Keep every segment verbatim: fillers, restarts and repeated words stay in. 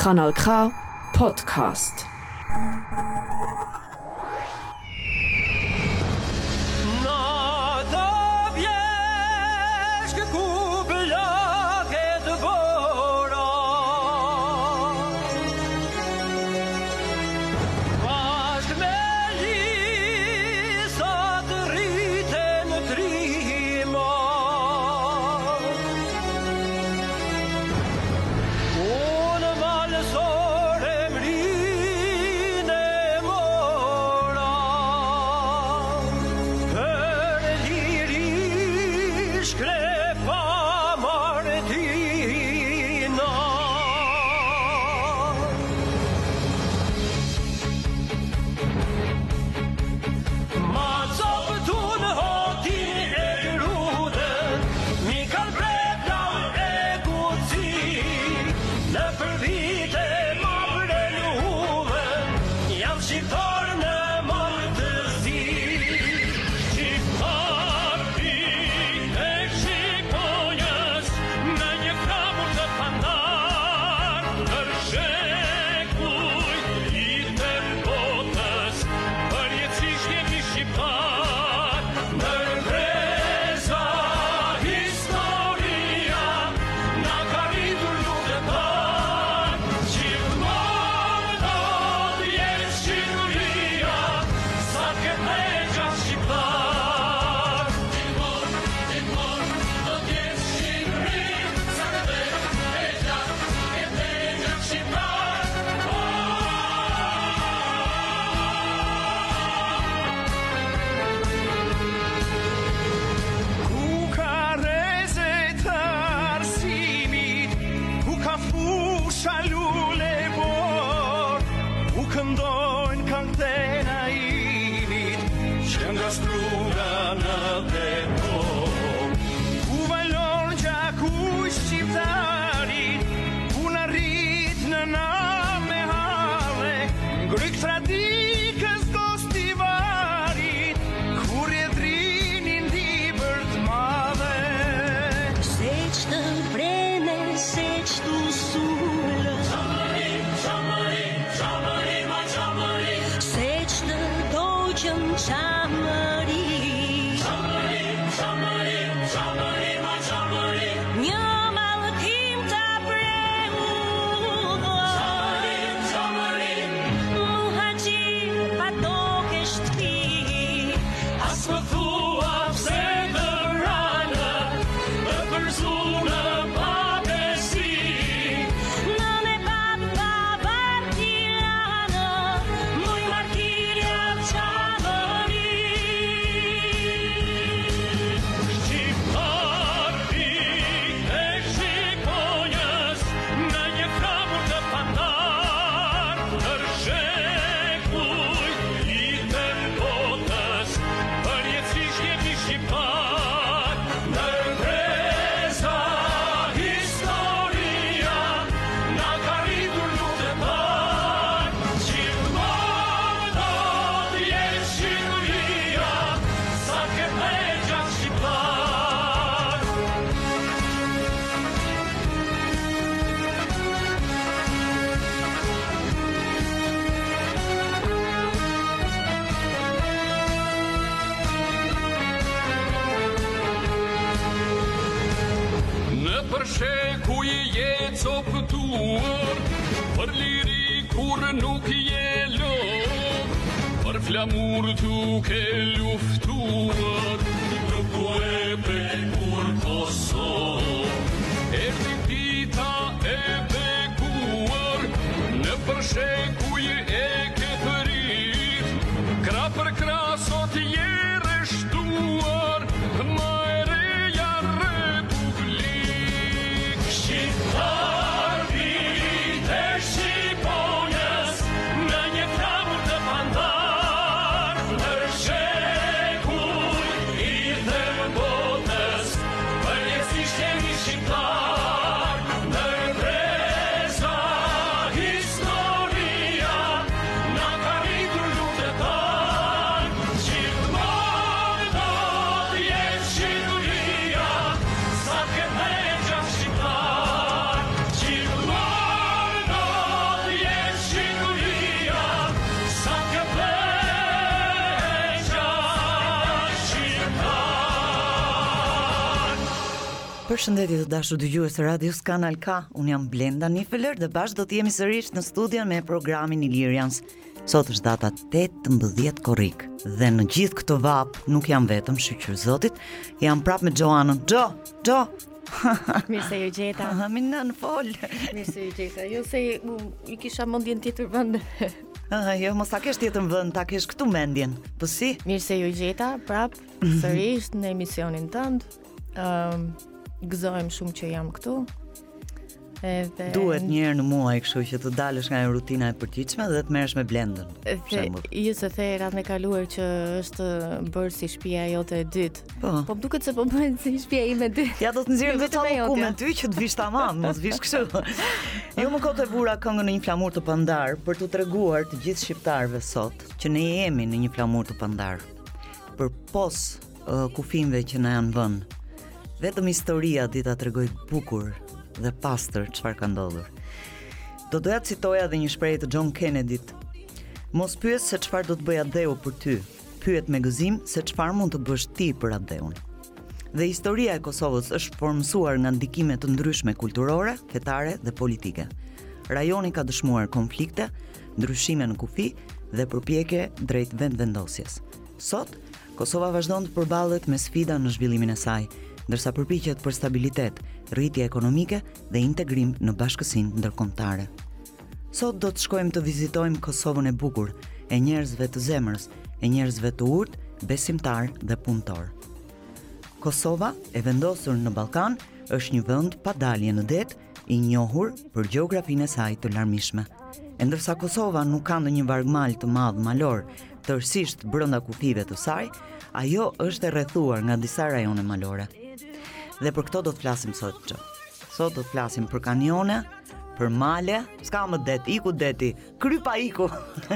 Kanal K Podcast. Flamur tu che luftuar, dopo ebbe pur posso, e ripita ebbe cuor, ne persecuie e che ferit, cra per crasot iere stuar, ma ereia republik. Shqiptar vite shqiponës, në një flamur të pandar, Shekuj i të botës, për jetësisht jemi shqiptar. Përshëndetje të dashur dëgjues të Radios Kanal K. Unë jam Blenda Nifeler dhe bashkë do të jemi sërish në studion me programin Ilirians. Sot është data tetëmbëdhjetë korrik dhe në gjithë këtë vap nuk jam vetëm, shqyr Zotit, jam prapë me Gjoanën. Gjo, Gjo. Mirë se ju gjeta. Mi nën fol. Mirë se ju gjeta. Jo se i kisha mendjen tjetër vend. Ah, jo, mos ta kesh tjetër vend, ta kesh këtu mendjen. Po si? Mirë se ju gjeta, prap sërish në emisionin tënd. Ëm, um, gëzohem shumë që jam këtu. Edhe duhet një herë në muaj kështu që të dalësh nga rutina e përditshme dhe të merresh me Blendën. Ju se the radhën e kaluar që është bërë si shtëpia jote e dytë. Po, po më duket se po bëhet si shtëpia ime e dytë. Ja do të nxjerrim Jo, vetë vetëm ku me jotja. ty që të vish tamam, mos vish kështu. Jo më kot e vura këngën në një flamur të pandar për t'u treguar të gjithë shqiptarëve sot që ne jemi në një flamur të pandar. Për pos uh, kufimve që na janë vënë. Vetëm historia di ta tregoj bukur dhe pastër çfarë ka ndodhur. Do doja të citoja edhe një shprehje të John Kennedy-t. Mos pyes se çfarë do të bëja Dheu për ty. Pyet me gëzim se çfarë mund të bësh ti për atë Dheun. Dhe historia e Kosovës është formësuar nga ndikime të ndryshme kulturore, fetare dhe politike. Rajoni ka dëshmuar konflikte, ndryshime në kufi dhe përpjekje drejt vendvendosjes. Sot, Kosova vazhdon të përballet me sfida në zhvillimin e saj, ndërsa përpiqet për stabilitet, rritje ekonomike dhe integrim në bashkësinë ndërkombëtare. Sot do të shkojmë të vizitojmë Kosovën e bukur, e njerëzve të zemrës, e njerëzve të urtë, besimtar dhe punëtor. Kosova, e vendosur në Ballkan, është një vend pa dalje në det, i njohur për gjeografinë e saj të larmishme. E ndërsa Kosova nuk ka ndonjë vargmal të madh malor, tërësisht brenda kufive të saj, ajo është e rrethuar nga disa rajone malore. Dhe për këto do të flasim sot që. Sot do të flasim për kanione, për male, s'ka më det, iku deti, krypa iku.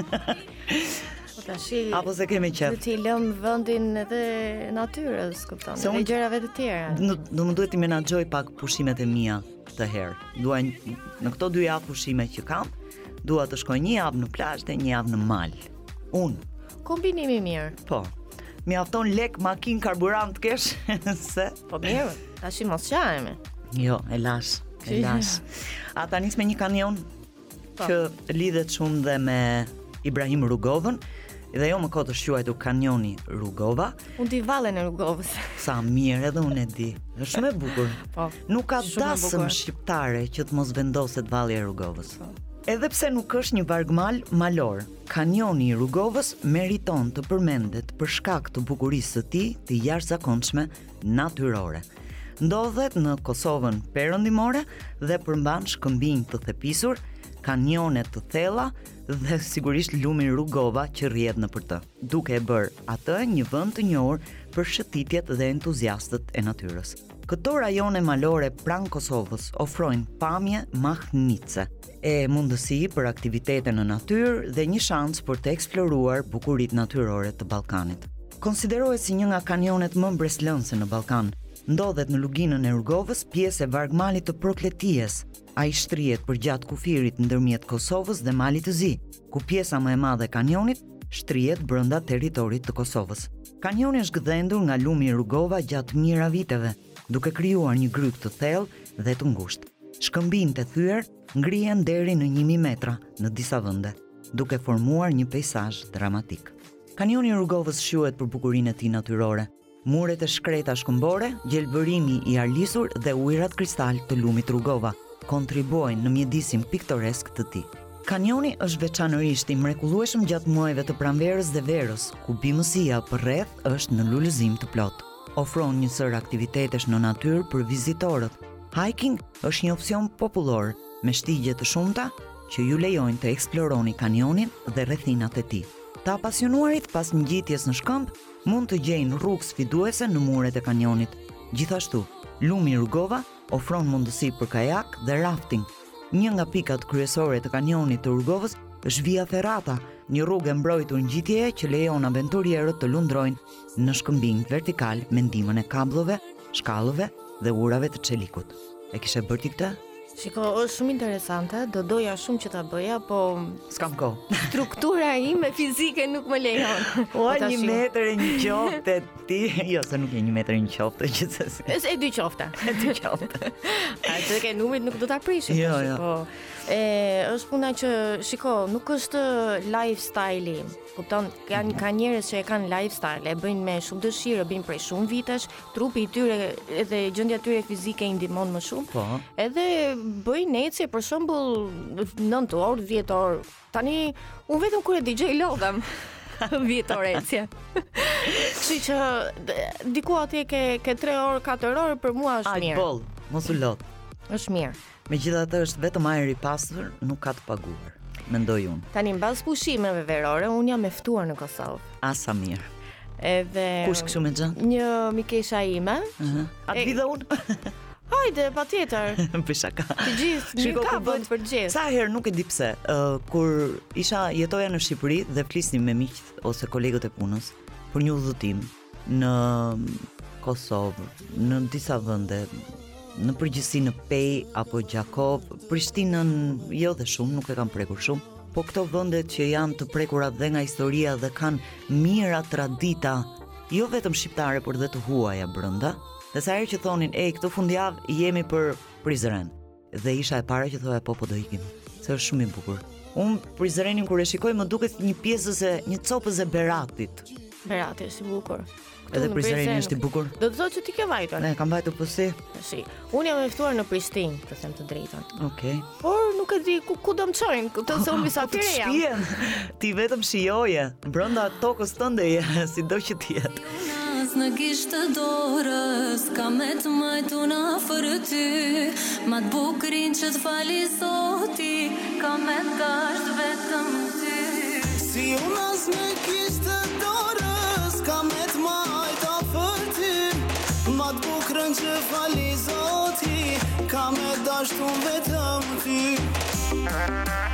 Po tashi Apo se kemi qef. Do t'i lëm vendin edhe natyrës, kupton, Se edhe unë- gjërave të tjera. Do do më duhet të menaxhoj pak pushimet e mia këtë herë. Dua një- në këto dy javë pushime që kam, dua të shkoj një javë në plazh dhe një javë në mal. Unë, Kombinimi i mirë. po. Mjafton lek, makinë, karburant kesh se Po mirë, tashi mos qajme. jo, e lash, e lash. A ta nis me një kanion Po. që lidhet shumë dhe me Ibrahim Rugovën, dhe jo më kot është quajtur kanioni Rugova. Unë di vallen e Rugovës. Sa mirë, edhe unë e di. Është shumë e bukur. Po. Nuk ka Shumë e dasëm bukur. shqiptare që të mos vendoset valli i Rugovës. Edhe pse nuk është një vargmal malor, kanioni i Rugovës meriton të përmendet për shkak të bukurisë së tij të jashtëzakonshme natyrore. Ndodhet në Kosovën perëndimore dhe përmban shkëmbinj të thepisur, kanione të thella dhe sigurisht lumi Rugova që rrjedh nëpër të, duke e bërë atë një vend të njohur për shëtitjet dhe entuziastët e natyrës. Këto rajone malore pranë Kosovës ofrojnë pamje mahnitse, e mundësi për aktivitete në natyrë dhe një shans për të eksploruar bukuritë natyrore të Ballkanit. Konsiderohet si një nga kanionet më mbreslënëse në Ballkan. Ndodhet në luginën e Rugovës, pjesë e vargmalit të Prokleties. Ai shtrihet përgjatë kufirit ndërmjet Kosovës dhe Malit të Zi, ku pjesa më e madhe e kanionit shtrihet brenda territorit të Kosovës. Kanioni është gdhendur nga lumi i Rugova gjatë mijëra viteve, duke krijuar një gryk të thellë dhe të ngushtë. Shkëmbinjtë e thyer ngrihen deri në një mijë metra në disa vende, duke formuar një peizazh dramatik. Kanioni i Rugovës quhet për bukurinë e tij natyrore. Muret e shkreta shkëmbore, gjelbërimi i arlisur dhe ujërat kristal të lumit Rugova kontribuojnë në mjedisin piktoresk të tij. Kanioni është veçanërisht i mrekullueshëm gjatë muajve të pranverës dhe verës, ku bimësia përreth është në lulëzim të plot. Ofron një sër aktivitetesh në natyrë për vizitorët. Hiking është një opsion popullor me shtigje të shumta që ju lejojnë të eksploroni kanionin dhe rrethinat e tij. Të apasionuarit pas ngjitjes në shkëmb mund të gjejnë rrugë sfiduese në muret e kanionit. Gjithashtu, lumi i Rugova ofron mundësi për kajak dhe rafting. Një nga pikat kryesore të kanionit të Rugovës është Via Ferrata, një rrugë e mbrojtur ngjitjeje që lejon aventurierët të lundrojnë në shkëmbinj vertikal me ndihmën e kabllove, shkallëve dhe urave të çelikut. E kishe bërë ti këtë? Shiko, është shumë interesante, do doja shumë që ta bëja, po S'kam kohë. struktura ime fizike nuk më lejon. Ua, Po tash një ju- metër e një qofte ti. Jo, se nuk je një metër e një qofte, gjithsesi. Është e dy qofta. E dy qofte. A të ke numrit nuk do ta prishim. Jo, tash, jo. Po. E është puna që shiko, nuk është lifestyle-i. Kupton, kanë ka njerëz që e kanë lifestyle, e bëjnë me shumë dëshirë, e bëjnë prej shumë vitesh, trupi i tyre edhe gjendja e tyre fizike i ndihmon më shumë. Po. Edhe bëjnë ecje për shembull nëntë orë, dhjetë orë. Tani unë vetëm kur e dëgjoj lodhem. dhjetë orë ecje. Kështu që d- diku atje ke ke tre orë, katër orë për mua është Aj mirë. boll, mos u lot. Është mirë. Megjithatë është vetëm ajër i pastër, nuk ka të paguar. Mendoj unë. Tani mbas pushimeve verore, un jam e ftuar në Kosovë. Asa mirë. Edhe Kush kështu me gjë? Një mikesha ime. Ëh. A E- të vi dhe unë? Hajde, patjetër. Për shaka. Të gjithë, Shiko, një ka kur vend bën- për të gjithë. Sa herë nuk e di pse, uh, kur isha jetoja në Shqipëri dhe flisnim me miqt ose kolegët e punës për një udhëtim në Kosovë, në disa vende, në përgjithësi në Pej apo Gjakov, Prishtinën jo dhe shumë, nuk e kam prekur shumë, po këto vendet që janë të prekura dhe nga historia dhe kanë mira tradita, jo vetëm shqiptare, por dhe të huaja brenda. Dhe sa herë që thonin, "Ej, këtë fundjavë jemi për Prizren." Dhe isha e para që thoya, "Po, po do ikim." Se është shumë i bukur. Unë Prizrenin kur e shikoj më duket një pjesës e një copës e Beratit. Berati është i bukur. Këtu Edhe në Prizreni Prizren- është i bukur. Do të thotë që ti ke vajtur. Ne kam vajtur po si. Tashi, unë jam e ftuar në Prishtinë, të them të drejtën. Okej. Por nuk e di ku, ku do më çojnë, këtë se unë Po të mysafire jam. shpijen. Ti vetëm shijoje. Brenda tokës tënde je, sido që të jetë. Nas në gishtë dorës, ka me të majtu në afër ty, ma të bukrin që të fali zoti, ka me dasht vetëm ty. Si unas në kishtë dorës, ka me të majt afër ty, ma të bukrën që fali zoti, ka me dashtu vetëm ty.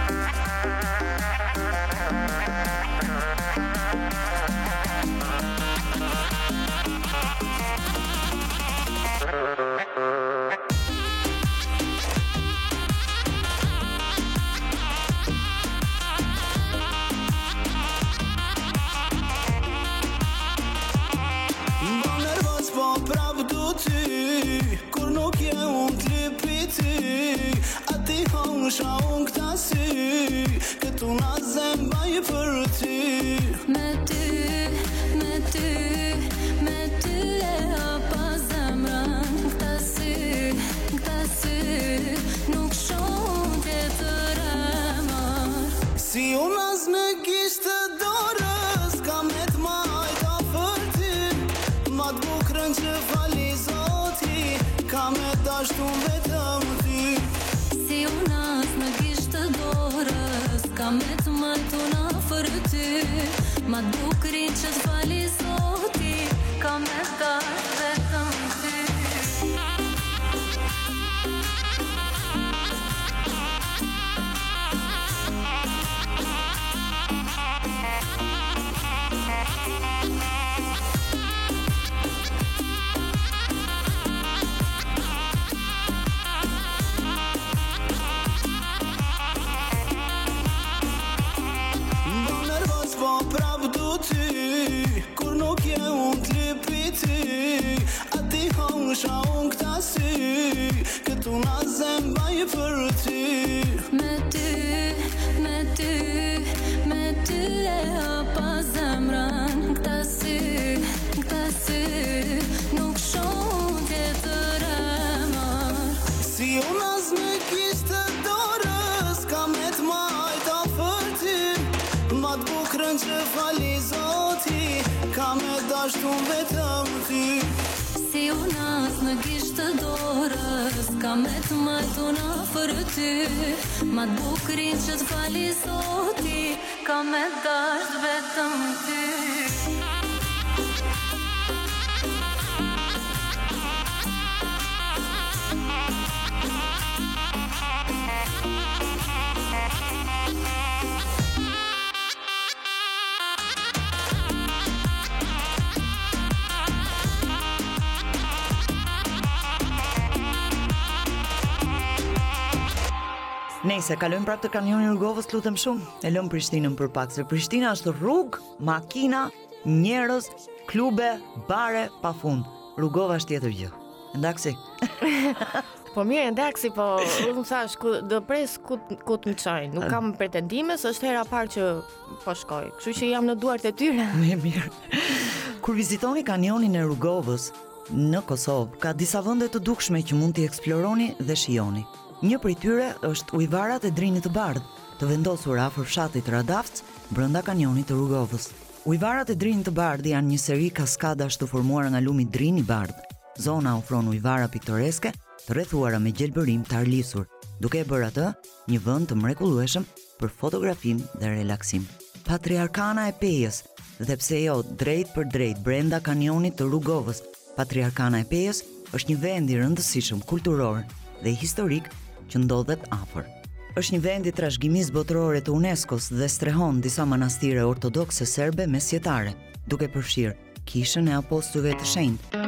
Mba nervos po prap du ty, kur nuk je unë t'lipi ty, a ti hongsha unë këta sy, këtu na zembaj për ty. Me ty, me ty, me ty e hapa zemrën, këta sy, këta sy, nuk shoh tjetër emër. Si unë as në gishtë dorës, ka me t'majt afër ty, ma t'bukrën që fali zoti, ka me dashtu vetëm ty. Si unas në gishtë dorës, ka me të majtu në afër ty, ma të bukrin që të fali zoti, ka me dasht vetëm ty. Mba nervos po prap du ty, kur nuk je unë t'lipi ty, a ti hongsha unë këta sy, këtu na zembaj për ty. Me ty, me ty, me ty e hapa zemrën, këta sy, këta sy, nuk shoh tjetër emër. Si unë as në kishtë dorës, ka me t'majt afër ty, ma t'bukrën që fali zoti, ka me dashtu vetëm ty. Si unas në gishtë dorës, ka me të majtu në afër ty, ma të bukrin që të fali zoti, ka me dasht vetëm ty. Nëse kalojmë prapë te kanjoni i Rrugovës, lutem shumë. E lëm Prishtinën për pak, se Prishtina është rrugë, makina, njerëz, klube, bare pafund. Rrugova është tjetër gjë. Ndaksi. Po mirë, ndaksi, po unë thash ku do pres ku ku të më çojnë. Nuk kam pretendime, se është hera e parë që po shkoj. Kështu që jam në duart e tyre. Më mirë. Kur vizitoni kanjonin e Rrugovës në Kosovë, ka disa vende të dukshme që mund t'i eksploroni dhe shijoni. Një prej tyre është ujvarat e Drinit të Bardh, të vendosur afër fshatit Radafc, brenda kanjonit të Rrugovës. Ujvarat e Drinit të Bardh janë një seri kaskadash të formuara nga lumi Drini i Bardh. Zona ofron ujvara piktoreske, të rrethuara me gjelbërim të arlisur, duke e bërë atë një vend të mrekullueshëm për fotografim dhe relaksim. Patriarkana e Pejës, dhe pse jo drejt për drejt brenda kanjonit të Rrugovës, Patriarkana e Pejës është një vend i rëndësishëm kulturor dhe historik që ndodhet afër. Është një vend i trashëgimisë botërore të UNESCO-s dhe strehon disa manastire ortodokse serbe mesjetare, duke përfshirë kishën e apostujve të shenjtë.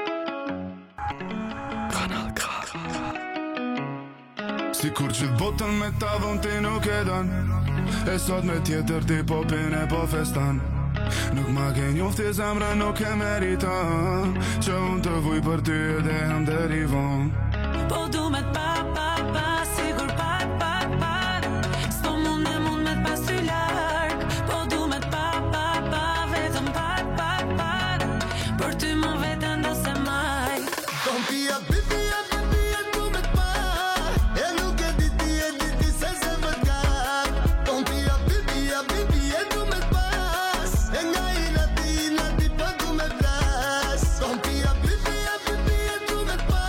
Sikur që botën me ta dhon ti nuk e don, e sot me tjetër ti po pine po festan. Nuk ma ke njofti zemra nuk e meriton, që unë të vuj për ty edhe jam deri vonë. Po du me t'pa, pa, pa, sigur pa, pa, pa. S'po mund e mund me t'pas ty larg. Po du me t'pa, pa, pa, vetëm pa, pa, pa. Për ty më vetën do se maj. Kom pia, pipia, pipia, du me t'pa. E nuk e di ti, e di ti se se vët gak. Kom pia, pipia, pipia, du me t'pas. E nga i nati, i nati, pa du me t'ras. Kom pia, pipia, pipia, du me t'pa.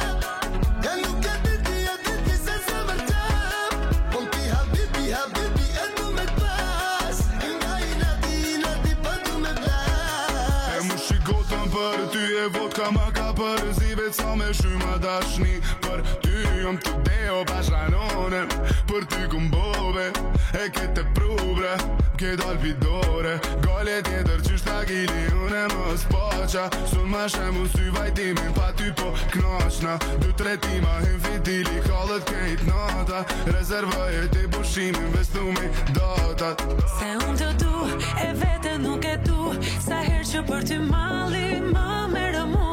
E nuk e di ti, e di ti se se vët gak. Kom pia, habibi, habibi, e du me t'pas. E nga i nati, i nati, pa du me t'ras. E mu shikotën për ty e vodka ma ka përzive ca me shyma dashni. Për ty jom të deo bashkanonem, për ty kumbove, e kete prubre, ke dal pidore. Gale tjetër që shtagili une më spaqa, sun ma shemu sy vajtimin pa ty po knashna. Du tre tima hin fitili kallët kejt nata, rezervoj e ti pushimin vestu me datat. Se unë të du, e vete nuk e du, sa her që për ty mali më merë mu.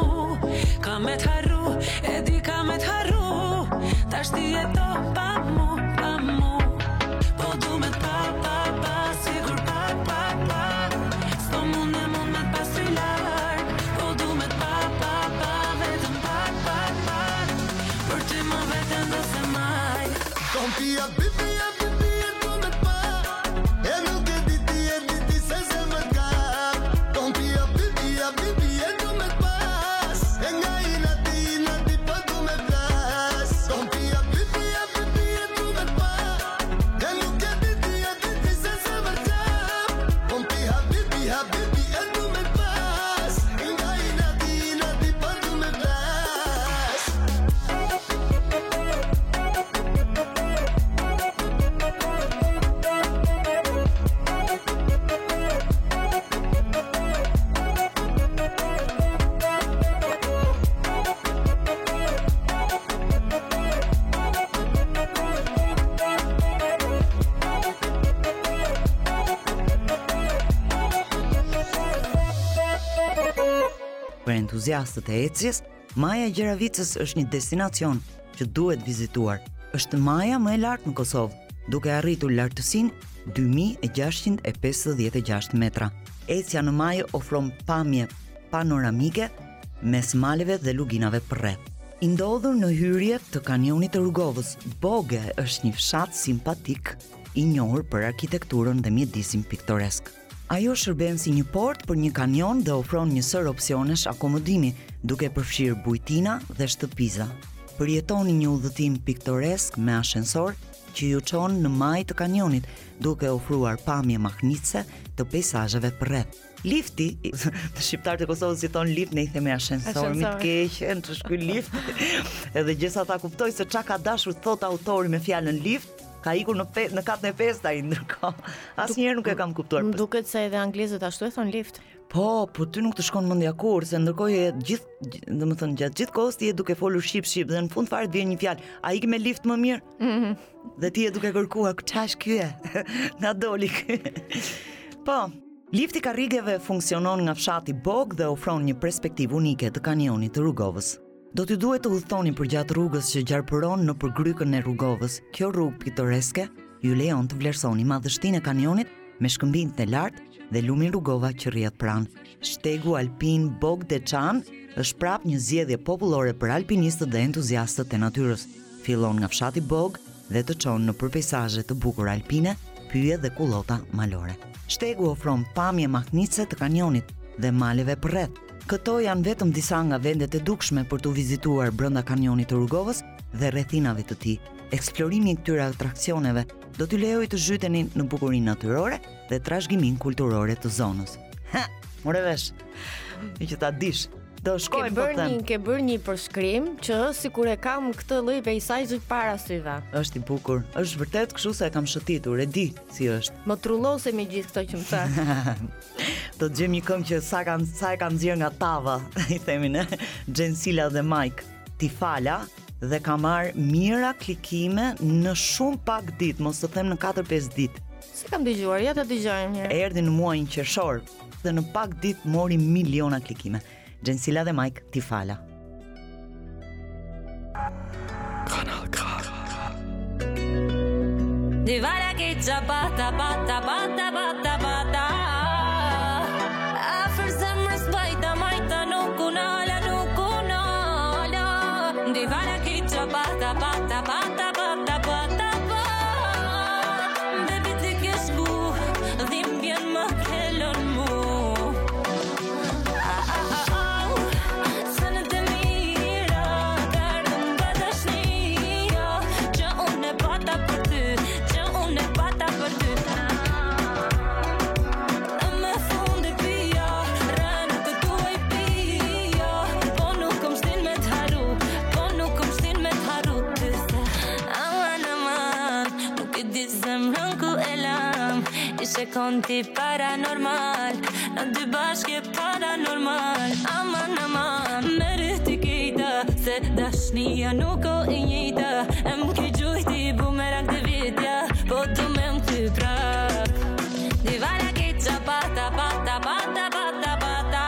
Ka me t'harru, e di ka me t'harru, tash ti e do pa mu, pa mu. Po du me t'pa, pa, pa, sigur pa, pa, pa. S'po mund e mund me t'pas ty larg. Po du me t'pa, pa, pa, vetëm pa, pa, pa. Për ty më vetën do se maj. Kom pia, pipia, pipia, du me t'pa. E nuk e di ti, e di ti se se vët gak. Kom pia, pipia, pipia, du me t'pas. E nga i nati, i nati, pa du me t'ras. Kom pia, pipia, pipia, du me t'pa. E nuk e di ti, e di ti se se vët gak. Kom pia, habibi, habibi, e du me t'pas. E nga i nati, i nati, pa du me t'ras. Për entuziastët e ecjes, Maja e Gjeravicës është një destinacion që duhet vizituar. Është maja më e lartë në Kosovë, duke arritur lartësinë dy mijë e gjashtëqind e pesëdhjetë e gjashtë metra. Ecja në majë ofron pamje panoramike mes maleve dhe luginave përreth. I ndodhur në hyrje të kanjonit të Rrugovës, Boge është një fshat simpatik i njohur për arkitekturën dhe mjedisin piktoresk. Ajo shërben si një port për një kanjon dhe ofron një sër opsionesh akomodimi, duke përfshirë bujtina dhe shtëpiza. Përjetoni një udhëtim piktoresk me ashensor që ju çon në majë të kanjonit, duke ofruar pamje mahnitse të peizazheve përreth. Lifti, shqiptarët e Kosovës si thon lift, ne i themi ashensor, mi të keq, të shkuj lift. Edhe gjesa ta kuptoj se çka ka dashur thot autori me fjalën lift. Ka ikur në pe, në katën e pestë ai, ndërkohë asnjëherë nuk e kam kuptuar. Më duket se edhe anglezët ashtu e thon lift. Po, po ty nuk të shkon mendja kur, se ndërkohë je gjithë, domethënë gjatë gjithë kohës ti je duke folur shqip shqip dhe në fund fare të vjen një fjalë, a iki me lift më mirë? Mhm. Dhe ti je duke kërkuar ç'ash ky e? Na doli ky. Po, lifti karrigeve funksionon nga fshati Bog dhe ofron një perspektivë unike të kanjonit të Rrugovës. Do t'ju duhet të udhëtoni përgjatë rrugës që gjarpëron në përgrykën e Rrugovës. Kjo rrugë pitoreske ju lejon të vlerësoni madhështinë e kanjonit me shkëmbimet e lartë dhe lumin Rrugova që rrihet pranë. Shtegu alpin Bog de Çan është prap një zgjedhje popullore për alpinistët dhe entuziastët e natyrës. Fillon nga fshati Bog dhe të çon në përpejsazhe të bukura alpine, pyje dhe kullota malore. Shtegu ofron pamje mahnitse të kanjonit dhe maleve përreth. Këto janë vetëm disa nga vendet e dukshme për të vizituar brenda kanjonit të Rrugovës dhe rrethinave të tij. Eksplorimi i këtyre atraksioneve do t'ju lejojë të zhyteni në bukurinë natyrore dhe trashëgiminë kulturore të zonës. Ha, more vesh. Mi që ta dish. Do Ke shkojmë po bërë them. një, ke bërë një përshkrim që sikur e kam këtë lloj peizazhi para syve. Është i bukur. Është vërtet kështu se e kam shëtitur, e di si është. Më trullose me gjithë këto që më the. Do të gjejmë një këngë që sa kanë sa e kanë nxjerr nga tava, i themi ne, Gjensila dhe Mike. Ti fala dhe ka marrë mira klikime në shumë pak ditë, mos të them në katër pesë ditë. Se kam dëgjuar, ja ta dëgjojmë një herë. Erdhi në muajin qershor dhe në pak ditë mori miliona klikime. Gjensila dhe Mike, ti fala. Divara che già bata bata bata bata bata Afër zemrës bajta majta nuk unala nuk unala Divara che già bata bata bata bata bata Baby ti ke shku dhimbjen më kellon mu Sënë të mira Kardëm nga dashnia Që unë e bata për ty Që unë e bata për ty Me fundi pia Rënë të tuaj pia Po nuk kom shtin me t'haru Po nuk kom shtin me t'haru Ty se aman aman Nuk e di zemrën ku e lam Ishe konti paranormal Në dy bashkë paranormal Aman aman Merë t'i kejta Se dashnia nuk o e njejta Em ki gjujti bumerang të vitja Po të me më ty prap Divara ke qa bata bata bata bata bata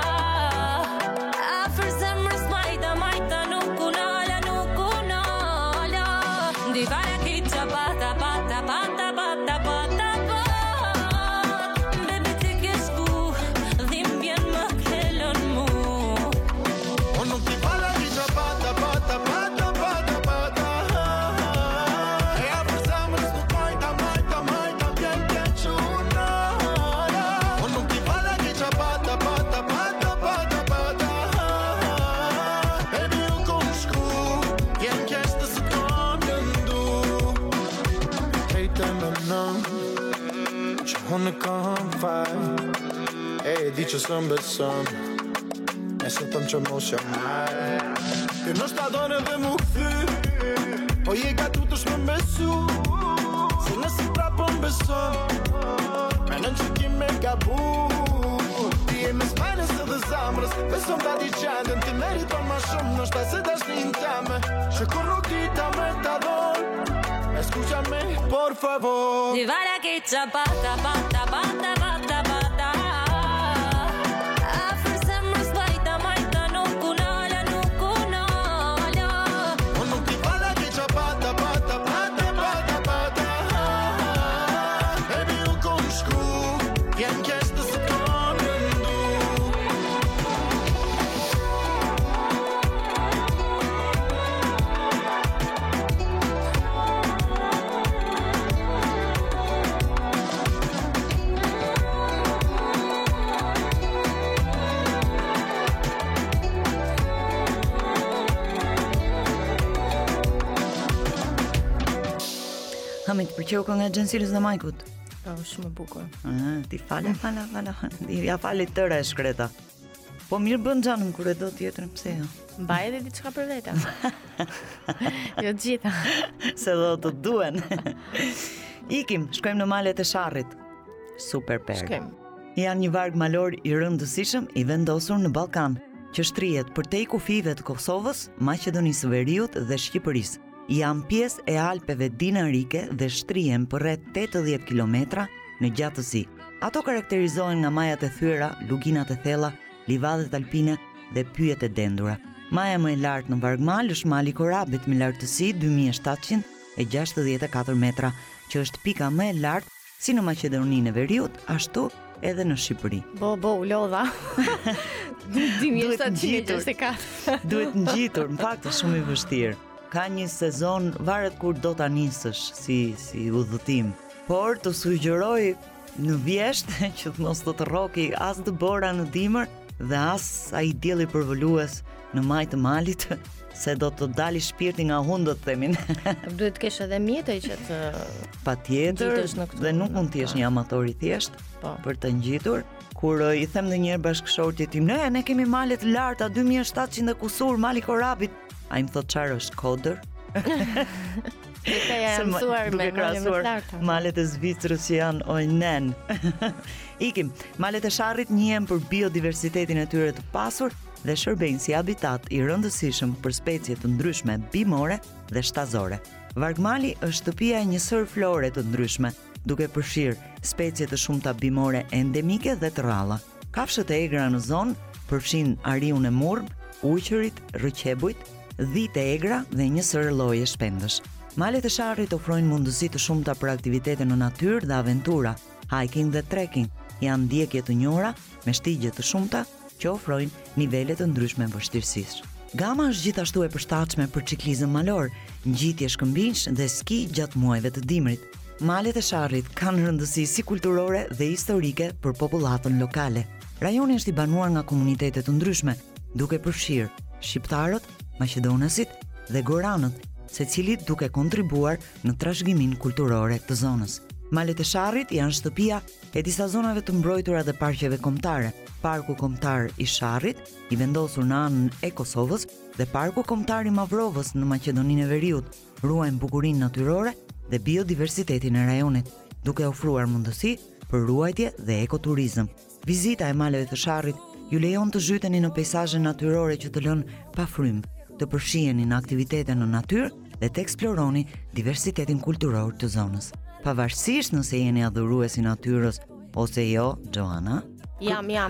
Afër zemrës majta majta nuk unala nuk unala Divara ke qa bata bata bata bata bata Baby ti ke shku dhimbjen më kellon mu O nuk ti fala ki qa bata bata bata bata bata E afër zemrës nuk majta majta majta vjen keq unala O nuk ti fala ki qa bata bata bata bata bata Baby u kom shku Vjen keq të së kam lëndu Hejte me nëm Që unë kam faj E di që së mbesëm E se tëm që mos jam marë Ti në shtadone dhe mu këthy Po je gatu të shme mbesu Se nësi prapë mbesëm Menën që ki me gabu Ti e me smajnës edhe zamrës Besom ta di qendën Ti meriton ma shumë Në shtaj se dashnin teme Që kur nuk ti ta me ta don Escuchame, por favor Divara che qa bata bata bata bata bata Afër zemrës bajta majta nuk unala nuk unala O nuk ti fala ki qa bata bata bata bata bata Baby u kom shku Vjen keq të së kam lëndu Hami të pëlqeu kënga e Gjensilës dhe Majkut. Po, shumë e bukur. Ah, ti fala, fala, fala. Ja falit tëra e shkreta. Po mirë bën xhanum kur e do tjetrën, pse jo? Mbaj edhe diçka për vete. Jo gjitha. Se do të duen. Ikim, shkojmë në malet e Sharrit. Super per. Shkojmë. Janë një varg malor i rëndësishëm i vendosur në Ballkan, që shtrihet përtej kufive të Kosovës, Maqedonisë së Veriut dhe Shqipërisë. Janë pjesë e Alpeve dinarike dhe shtrihen për rreth tetëdhjetë kilometra në gjatësi. Ato karakterizohen nga majat e thyera, luginat e thella, livadët alpine dhe pyjet e dendura. Maja më e lartë në vargmal është Mali Korabit me lartësi dy mijë e shtatëqind e gjashtëdhjetë e katër metra, që është pika më e lartë si në Maqedoninë e Veriut, ashtu edhe në Shqipëri. Bo, bo, u lodha. dy mijë e shtatëqind e gjashtëdhjetë e katër. Duhet ngjitur, në fakt është shumë i vështirë. Ka një sezon, varet kur do ta nisësh si si udhëtim, por të sugjeroj në vjesht që të mos të të rroki as dëbora në dimër dhe as ai dielli përvolues në majtë të malit, se do të dali shpirti nga hundët, themin. Duhet të kesh edhe mjete që të patjetër, ngjitesh në këtu. dhe nuk mund të jesh një amator i thjesht Po. për të ngjitur. Kur uh, i them ndonjëherë bashkëshortit tim, ne ne kemi male të larta dy mijë e shtatëqind e kusur, Mali Korabit. Ai më thot çfarë është kodër? Këta janë mësuar me male më të larta. Malet e Zvicrës që janë ojnen. Ikim, malet e Sharrit njihen për biodiversitetin e tyre të pasur dhe shërbejnë si habitat i rëndësishëm për specie të ndryshme bimore dhe shtazore. Vargmali është shtëpia e një sër flore të ndryshme, duke përfshirë specie të shumta bimore endemike dhe të rralla. Kafshët e egra në zonë përfshin ariun e murb, uqërit, rrëqebujt, dhitë e egra dhe një sër lloje shpendësh. Malet e Sharrit ofrojnë mundësi të shumta për aktivitete në natyrë dhe aventura, hiking dhe trekking. Janë ndjekje të njohura me shtigje të shumta që ofrojnë nivele të ndryshme vështirësisë. Gama është gjithashtu e përshtatshme për ciklizëm malor, ngjitje shkëmbinj dhe ski gjatë muajve të dimrit. Malet e Sharrit kanë rëndësi si kulturore dhe historike për popullatën lokale. Rajoni është i banuar nga komunitete të ndryshme, duke përfshirë shqiptarët, maqedonasit dhe goranët, secili duke kontribuar në trashëgiminë kulturore të zonës. Malet e Sharrit janë shtëpia e disa zonave të mbrojtura dhe parqeve kombëtare. Parku kombëtar i Sharrit, i vendosur në anën e Kosovës, dhe Parku kombëtar i Mavrovës në Maqedoninë e Veriut, ruajnë bukurinë natyrore dhe biodiversitetin e rajonit, duke ofruar mundësi për ruajtje dhe ekoturizëm. Vizita e maleve të Sharrit ju lejon të zhyteni në peizazhe natyrore që të lënë pa frymë, të përfshiheni në aktivitete në natyrë dhe të eksploroni diversitetin kulturor të zonës. Pavarësisht nëse jeni adhurues i natyrës ose jo, Joana, Jam, jam.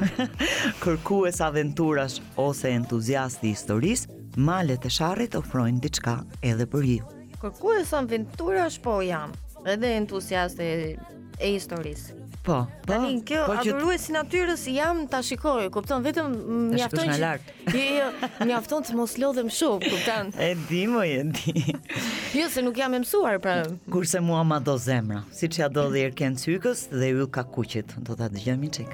kërkues aventurash ose entuziasti i historisë, malet e Sharrit ofrojnë diçka edhe për ju. Kërkues aventurash, po jam. Edhe entuziast e, e historisë. Po, po. Tani kjo po që- adhurues i natyrës jam ta shikoj, kupton, vetëm Ta mjafton shikosh nga që lart. Jo, jo, mjafton të mos lodhem shumë, kupton. E di mo e di. Jo, se nuk jam e mësuar, pra. Kurse mua ma do zemra, siç ja do dhe Erken Cykës dhe Yll Kakuqit. Do ta dëgjojmë një çik.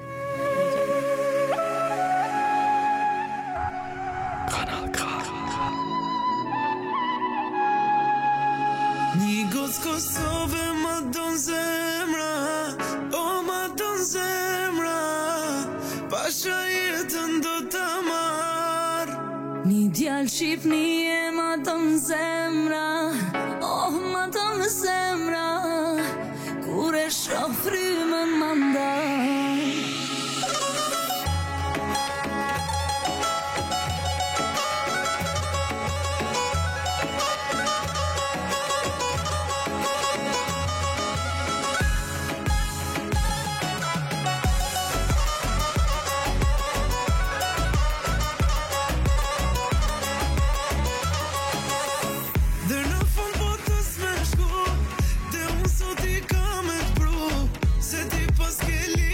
Një gocë Kosove ma don zemra, o ma don zemra, pasha jetën do ta marr. Një djalë Shqipni e ma ton zemra, oh ma ton zemra, kur e shoh frymën ma ndaj. Dhe në fund botës me shku, dhe unë sot i kam e pru, se ti pas ke li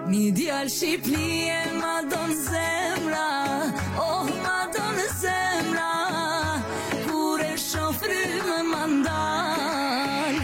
Një djalë Shqipënie ma don zemra, oh ma don zemra, kur e shoh frymën ma ndal.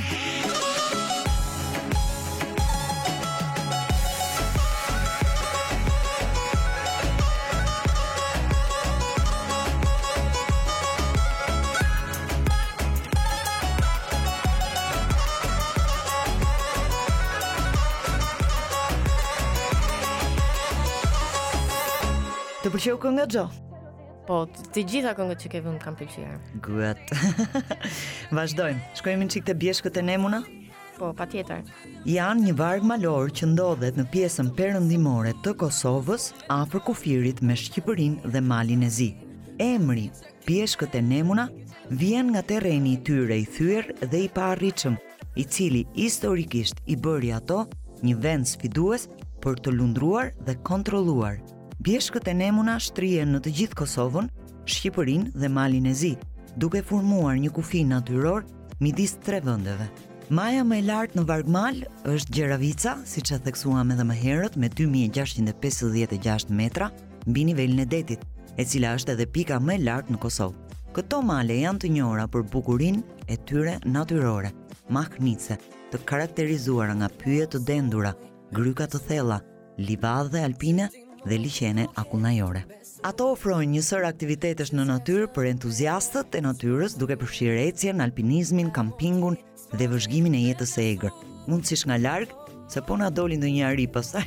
Të pëlqeu kënga Xho? Po, të të gjitha këngët që ke vënë kam pëlqyer. Good. Vazhdojmë. Shkojmë në çik te Bjeshkët e Nemuna? Po, patjetër. Janë një varg malor që ndodhet në pjesën perëndimore të Kosovës, afër kufirit me Shqipërinë dhe Malin e Zi. Emri Bjeshkët e Nemuna vjen nga terreni i tyre i thyer dhe i paarritshëm, i cili historikisht i bëri ato një vend sfidues për të lundruar dhe kontrolluar. Bjeshkët e Nemuna shtrihen në të gjithë Kosovën, Shqipërinë dhe Malin e Zi, duke formuar një kufi natyror midis tre vendeve. Maja më e lartë në Vargmal është Gjeravica, siç e theksuam edhe më herët, me dy mijë e gjashtëqind e pesëdhjetë e gjashtë metra mbi nivelin e detit, e cila është edhe pika më e lartë në Kosovë. Këto male janë të njohura për bukurinë e tyre natyrore, mahnice, të karakterizuara nga pyje të dendura, gryka të thella, livadhe alpine dhe liqene akullnajore. Ato ofrojnë një sër aktivitetesh në natyrë për entuziastët e natyrës, duke përfshirë ecjen, alpinizmin, kampingun dhe vëzhgimin e jetës së egër. Mundësisht nga larg, se po na doli ndonjë ari pastaj.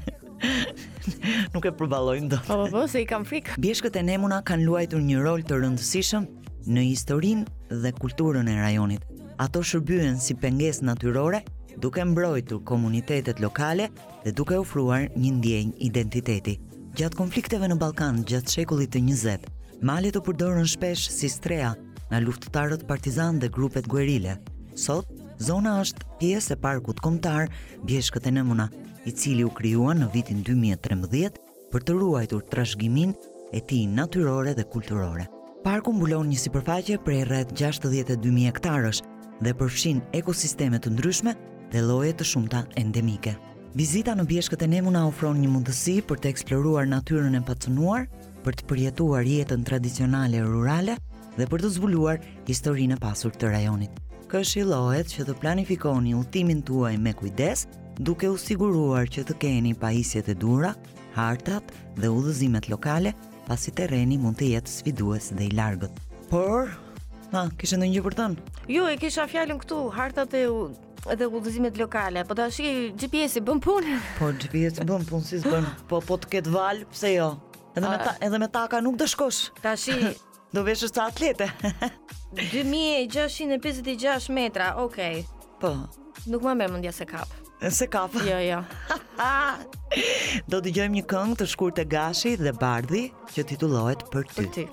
Nuk e përballojmë dot. Po, po, po, se i kam frikë. Bjeshkët e Nemuna kanë luajtur një rol të rëndësishëm në historinë dhe kulturën e rajonit. Ato shërbyen si pengesë natyrore, duke mbrojtur komunitetet lokale dhe duke ofruar një ndjenjë identiteti. Gjatë konflikteve në Ballkan gjatë shekullit të njëzet, malet u përdorën shpesh si strea nga luftëtarët partizan dhe grupet guerile. Sot, zona është pjesë e parkut kombëtar Bjeshkët e Nemuna, i cili u krijuar në vitin dy mijë e trembëdhjetë për të ruajtur trashëgiminë e tij natyrore dhe kulturore. Parku mbulon një sipërfaqe prej rreth gjashtëdhjetë e dy mijë hektarësh dhe përfshin ekosisteme të ndryshme dhe lloje të shumta endemike. Vizita në Bjeshkët e Nemuna ofron një mundësi për të eksploruar natyrën e pacënuar, për të përjetuar jetën tradicionale rurale dhe për të zbuluar historinë e pasur të rajonit. Këshillohet që të planifikoni udhëtimin tuaj me kujdes, duke u siguruar që të keni pajisjet e duhura, hartat dhe udhëzimet lokale, pasi terreni mund të jetë sfidues dhe i largët. Por, ha, kishe ndonjë gjë për të thënë? Jo, e kisha fjalën këtu, hartat e u edhe udhëzimet lokale, po tash G P S-i bën punë. Po G P S-i bën punë, si s'bën. Po po të ketë val, pse jo? Edhe me ta, edhe me taka nuk do shkosh. Tash do veshësh sa atlete. dy mijë e gjashtëqind e pesëdhjetë e gjashtë metra, okay. Po. Nuk më merr mendja se kap. Se kap. Jo, jo. Do dëgjojmë një këngë të shkurtë e Gashi dhe Bardhi që titullohet Për ty. Për ty.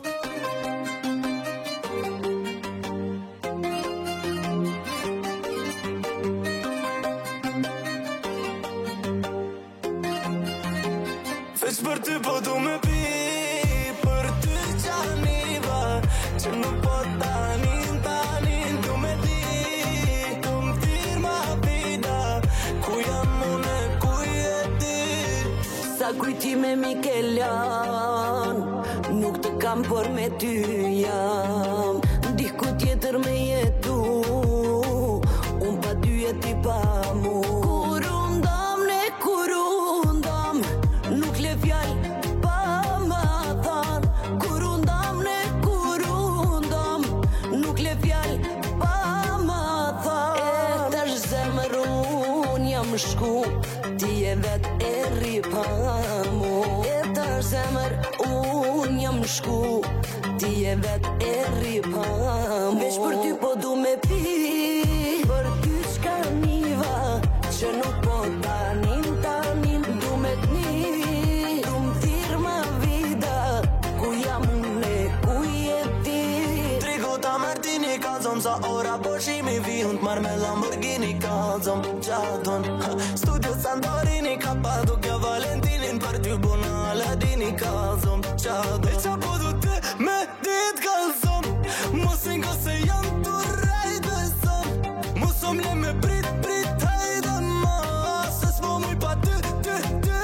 Veç për ty po du me pi, për ty qaniva, që nuk po tanin, tanin, du me ti, du m'thirë ma vida, ku jam une, ku je ti. Sa kujtime Mikeljan, nuk të kam por me ty jam, diku tjetër me jetu, unë pa ty e ti pa mu. Kur undam ne, kur undam, nuk le fjall pa ma than. Kur undam ne, kur undam, nuk le fjall pa ma than. E tash zemër unë jam shku, ti e vet e rri pa mu. E tash zemër unë jam shku, ti e vet e rri pa mu. Veç për ty po du me pi, për ty qka niva, që nuk po tanin, tanin, du me t'ni, du m'thirë ma vida, ku jam une, ku je ti. Trikuta Martini kalzon, sa ora po shimi vihun t'mar me Lamborghini kalzon, qaton. Studio Santorini, Kappadokia, Valentinin, për ty bona Aladini kalzon, qaton. E qa po du të me dit kalzon, mosin ko se janë të rajt beson, mosom le me prit, prit, hajde ma, se s'po muj pa ty, ty, ty.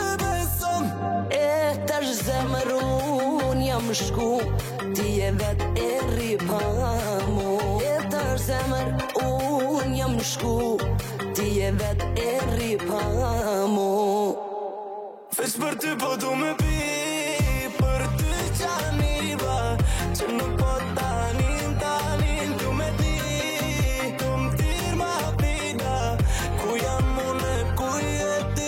shku, ti e vet e rri pa mu. E tër zemër unë jam shku, ti e vet e rri pa mu. Veç për ty po du me pi, për ty qaniva, që nuk po tanin, tanin, du me ti, du m'tir ma vida, ku jam unë, ku je ti.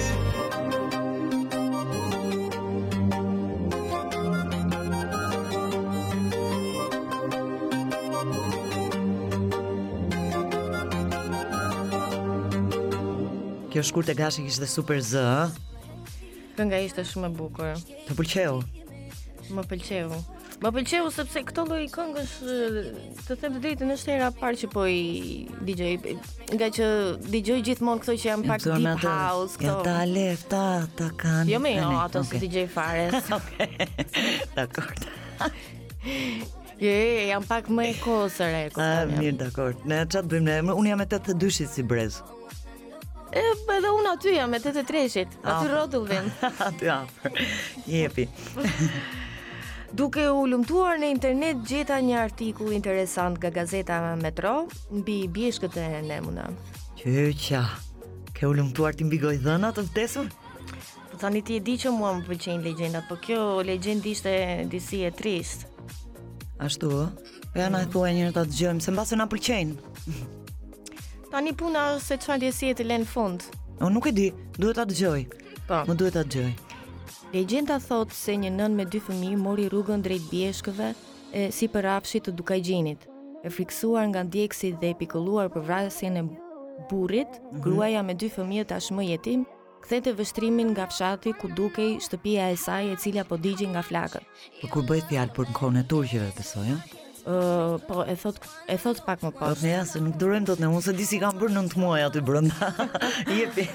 Kjo shkurt e gashi kishte super zë, ë? Kënga ishte shumë e bukur. Të pëlqeu? Më pëlqeu. Më pëlqeu sepse këto lloj këngësh, të them të drejtën, është hera e parë që po i dëgjoj, nga që dëgjoj gjithmonë këto që janë pak deep house, këto. Ja ta lefta ta kanë. Jo më, jo, ato si dëgjoj fare. Okej. Dakor. Je, jam pak më e kosër e kupton. Ah, mirë, dakor. Ne çfarë bëjmë ne? Unë jam me tetëdhjetë e dyshit si brez. E, edhe unë aty jam me tetëdhjetë e treshit. Aty rrotull vjen. Aty afër. Jepi. Duke u lumtuar në internet gjeta një artikull interesant nga gazeta Metro mbi bjeshkët e Nemuna. Qyqa. Ke u lumtuar ti mbi gojdhëna të vdesur? Po tani ti e di që mua më pëlqejnë legjendat, po kjo legjend ishte disi e trist. Ashtu ë? Ja na thuaj njëherë ta dëgjojmë, se mbase na pëlqejnë. Tani puna është se çfarë ndjesie të lënë fund. Unë nuk e di, duhet ta dëgjoj. Po. Më duhet ta dëgjoj. Legjenda thot se një nën me dy fëmijë mori rrugën drejt bjeshkëve e si për rafshit të Dukajgjinit. E friksuar nga ndjekësit dhe e pikolluar për vrasjen e burrit, mm-hmm. gruaja me dy fëmijë tashmë jetim kthente vështrimin nga fshati ku dukej shtëpia e saj e cila po digjej nga flakët. Po kur bëhet fjalë për kohën e turqeve, besoj, ëh? Uh, po e thot e thot pak më poshtë. Po ja, se nuk durojmë dot ne, unë se di si kam bërë nëntë muaj aty brenda. Jepi.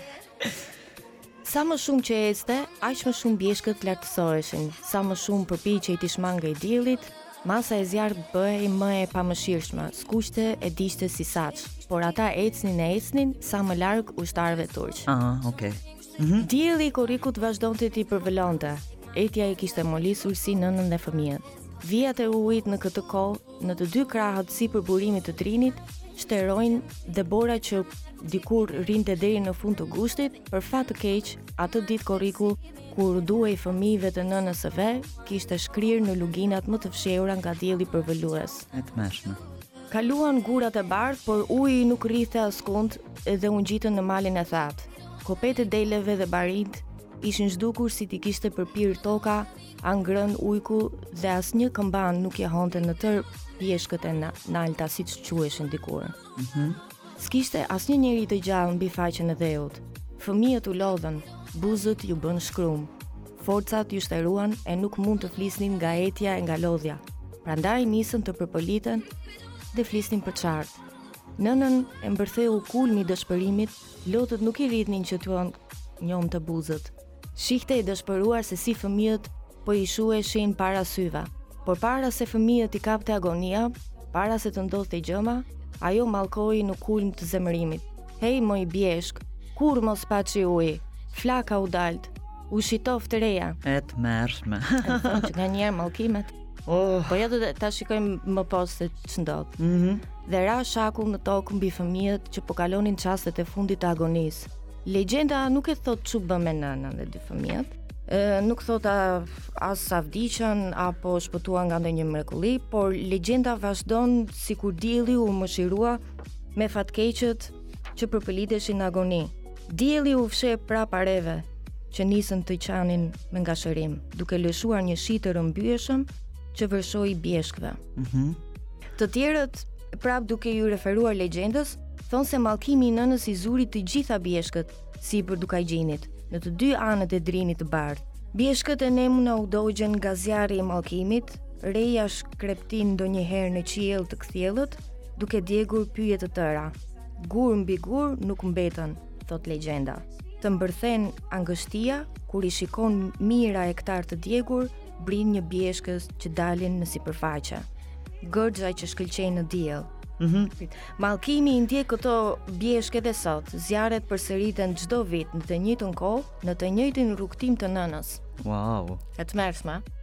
Sa më shumë që ecte, aq më shumë bjeshkët lartësoheshin. Sa më shumë përpiqej të shmangej diellit, masa e zjarrit bëhej më e pamëshirshme, skuqte e diqte si saç, por ata ecnin e ecnin sa më larg ushtarëve turq. Ah, okay. Mhm. Dielli i korrikut vazhdonte t'i përvolonte. Etja i kishte molisur si nënën dhe fëmijët. Vijat e ujit në këtë kohë, në të dy krahët sipër burimit të trinit, shterojnë dhe bora që dikur rinte deri në fund të gushtit, për fat të keq, atë ditë korriku kur duhej fëmijëve të nënës së vet, kishte shkrirë në luginat më të fshehura nga dielli përvolues. E tmeshme. Kaluan gurat e bardh, por uji nuk rrithte askund dhe u ngjitën në malin e thatë. Kopet e deleve dhe barit ishin zhdukur si t'i kishte përpir toka, angrën ujku dhe asnjë këmban nuk jehonte në tër bjeshkët e nalta siç quheshin dikur. Mhm. S'kishte asnjë njeri të gjallë mbi faqen e dheut. Fëmijët u lodhën, buzët ju bën shkrum. Forcat ju shteruan e nuk mund të flisnin nga etja e nga lodhja. Prandaj nisën të përpoliten dhe flisnin për çart. Nënën e mbërtheu kulmi i dëshpërimit, lotët nuk i rritnin që t'uan njom të buzët. Shihte i dëshpëruar se si fëmijët po i shuheshin para syve, por para se fëmijët i kapte agonia, para se të ndodhte gjëma, ajo mallkoi në kulm të zemërimit. Hej moj bjeshk, kur mos paçi uji, flaka u dalt, u shitof të reja. E të mërshme. E thonë që nga njerë mallkimet. Oh. Po ja do ta shikojmë më poshtë se ç'ndodh. Mhm. Dhe ra shakull në tokë mbi fëmijët që po kalonin çastet e fundit të agonisë. Legjenda nuk e thot ç'u bë me nënën dhe dy fëmijët. E, nuk thot a, as sa vdiqën apo shpëtuan nga ndonjë mrekulli, por legjenda vazhdon sikur dielli u mëshirua me fatkeqët që përpëliteshin në agoni. Dielli u fsheh prapa reve që nisën të qanin me ngashërim, duke lëshuar një shi të rrëmbyeshëm që vërshoi bjeshkëve. Mhm. Të tjerët, prap duke ju referuar legjendës, thonë se mallkimi i nënës i zuri të gjitha bjeshkët sipër Dukajgjinit, në të dy anët e drinit të bardhë. Bjeshkët e Nemuna u dogjen nga zjarri i mallkimit, reja shkreptin ndonjëherë në qiell të kthjellët, duke djegur pyje të tëra. Gur mbi gur nuk mbetën, thot legjenda. Të mbërthen angështia kur i shikon mira hektar të djegur, brin një bjeshkës që dalin në sipërfaqe. Gërxha që shkëlqejnë në diell. Mhm. Mallkimi i ndjek këto bjeshkë edhe sot. Zjarret përsëriten çdo vit në të njëjtën kohë, në të njëjtin rrugtim të nënës. Wow. E tmerrshme.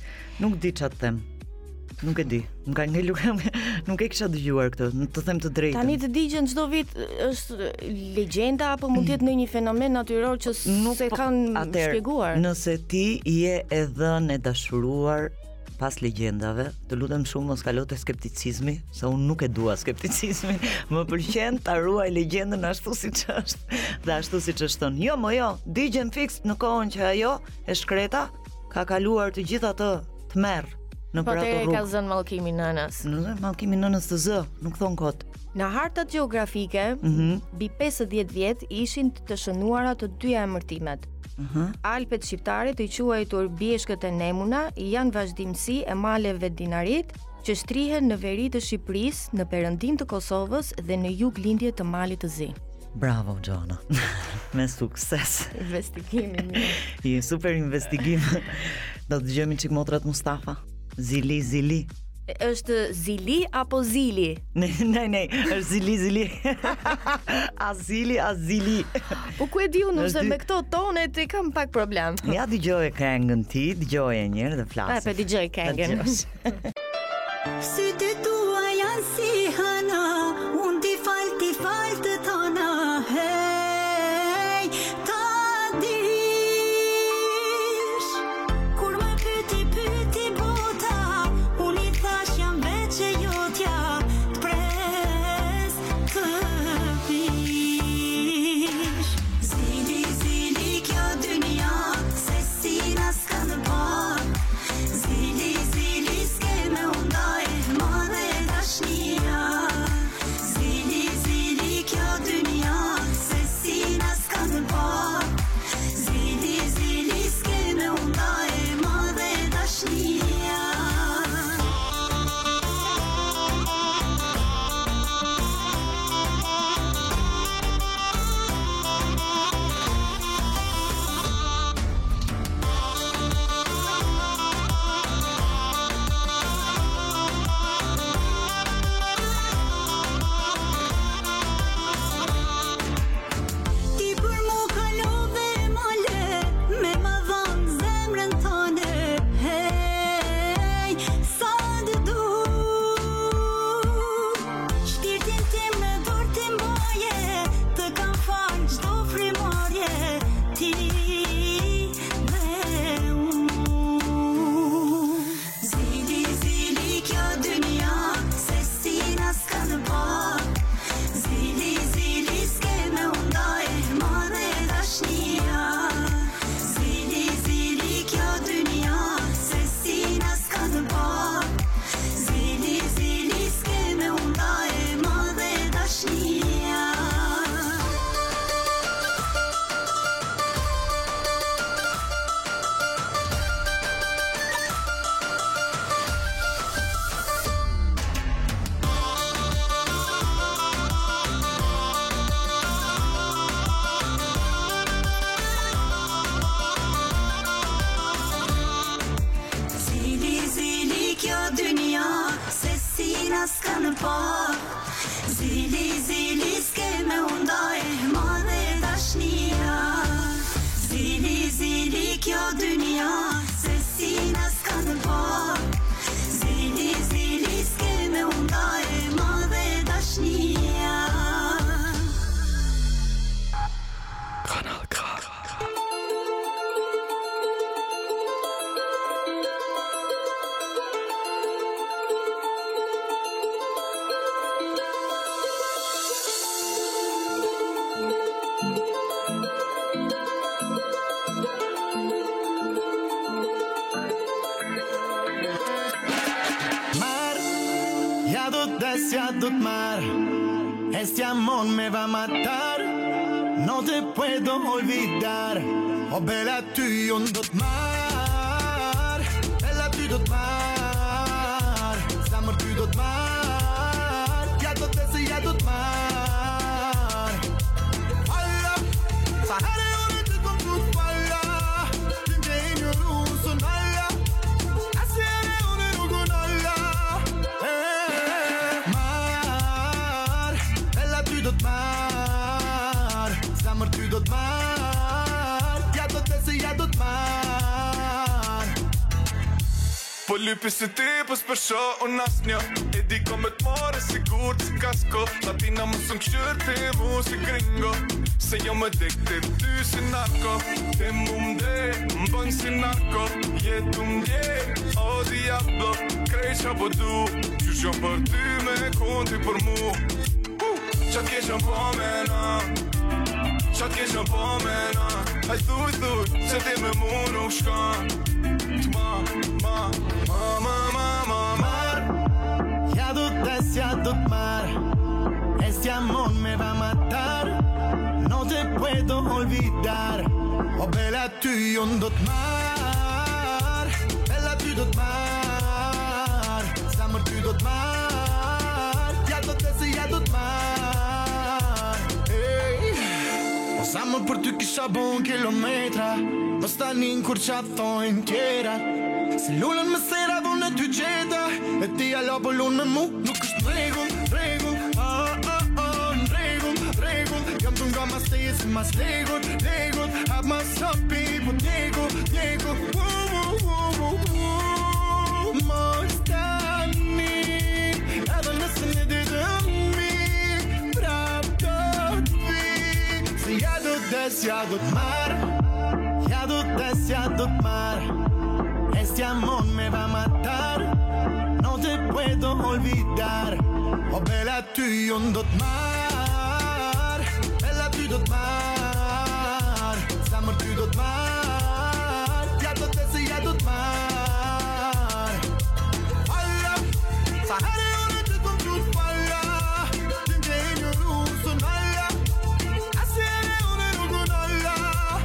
Nuk di ç'a të them. Nuk e di. Nuk ka ngelur, nuk e kisha dëgjuar këtë, të them të drejtën. Tani të digjen çdo vit është legjenda apo mund të jetë ndonjë fenomen natyror që nuk se kanë shpjeguar. Nëse ti je e dhënë e dashuruar pas legjendave, të lutem shumë mos kalo te skepticizmi, se unë nuk e dua skepticizmin. Më pëlqen ta ruaj legjendën ashtu siç është, dhe ashtu siç është thënë. Jo, mo jo, digjen fiks në kohën që ajo e shkreta ka kaluar të gjithë atë tmerr në për ato rrugë. Po te ka zënë mallkimin nënës. Në mallkimin nënës të zë, nuk thon kot. Në hartat gjeografike, Mhm. mbi pesëdhjetë vjet ishin të shënuara të dyja emërtimet. Mhm. Alpet shqiptare të quajtur Bieshkët e Nemuna janë vazhdimsi e maleve dinarit që shtrihen në veri të Shqipërisë, në perëndim të Kosovës dhe në jug lindje të Malit të Zi. Bravo Gjona. Me sukses. Investigimi mirë. Je super investigim. Do të dëgjojmë çik motrat Mustafa. Zili zili. Është Zili apo Zili? Ne, ne, ne, është zili zili. Azili, azili. Po ku e di unë se Është dy- me këto tonet i kam pak problem. Ja dëgjoje këngën ti, dëgjoje një herë dhe Pa, flas. pe dëgjoj këngën. Sytë tua janë si hëna, unë ti fal, ti fal të tona, hej, ta dish. Kur më pyti, pyti bota, unë i thash jam veç e jotja, t'pres të vish. Zili, zili kjo dynja, se si na s'ka në par. Zili, zili s'ke me undaj, madhe dashnia. Zili, zili kjo dynja, se si na s'ka në par. Zili, zili s'ke me undaj, madhe dashnia. Ti për mu kalove male, me më dhanë zemrën tëne, hej, sa të du. Shpirtin tim në dorë ti mbaje, të kam falë çdo frimarje, ti dhe unë. Zili, zili kjo dynja, se si na s'ka në par. Zili, zili s'ke me undaj, madhe dashnia. Zili, zili kjo dynja, se si na s'ka në par. Zili, zili s'ke me undaj, madhe dashnia. Zili, zili kjo dynja, se si na s'ka në par. Zili, zili s'ke me undaj, madhe dashnia. Zili, zili kjo dynja, se si na s'ka në par. Zili, zili s'ke me undaj, madhe dashnia. Kanal K. Mar, ja do t'des, ja do t'mar. Este amor me va a matar. No te puedo olvidar. Oh bella ty, unë do t'mar. Bella ty do t'mar. Zamër ty do t'mar. Ja do t'des, ja do t'mar. Falla, sa herë unë të kom tu falla. Ty nge i një rusën falla. Asere unë nuk unë alla. Mar, bella ty do t'mar. Zamër ty do t'mar. Ja do t'des, ja do t'mar. Po lypi si ti, po s'përsho unë asnjë. E di ko me t'more sigur si kasko. Latina më sën këshyr ti mu si gringo. Se jo më dek të ty si narko. Te mu mde, më bën si narko. Jetu mdje, o diablo. Krej qa po du, qysh jom për ty me konti për mu. uh, Qa t'keshën po mena, qa t'keshën po mena. Haj thuj thuj, se ti me mu nuk shkan. Ma, ma, ma, ma, ma, ma, mar. Ya do des, ya do mar. Este amor me va a matar. No te puedo olvidar. Oh bella tu yon do mar. Bella tu do mar. Samur tu do mar. Ya do des, ya do mar. Hey. O samur për ty kisha bon kilometra. Mos tani kur qa thojnë tjera. Se lullën me sera dhune ty gjeta. E ti alo po lullën me mu. Nuk është regull, regull. Ah, ah, ah, regull, regull. Jam të nga mas teje si mas legut, legut. Hap mas hapi, po djegu, djegu. Mos tani, edhe nëse në ditë mi, prap do t'vi. Se ja do des, ja do t'mar. Ya do des, ya do mar. Este amor me va a matar. No te puedo olvidar. Oh bella tu yon do mar. Bella tu do mar. Samur tu do mar. Ya do des, ya do mar. Alla, sahare one te kom tu falla. Tinge in your room so nalla. Asere one rugun alla.